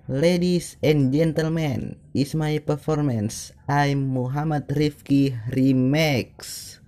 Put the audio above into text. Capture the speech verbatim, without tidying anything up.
Ladies and gentlemen, is my performance. I'm Muhammad Rifki Remix.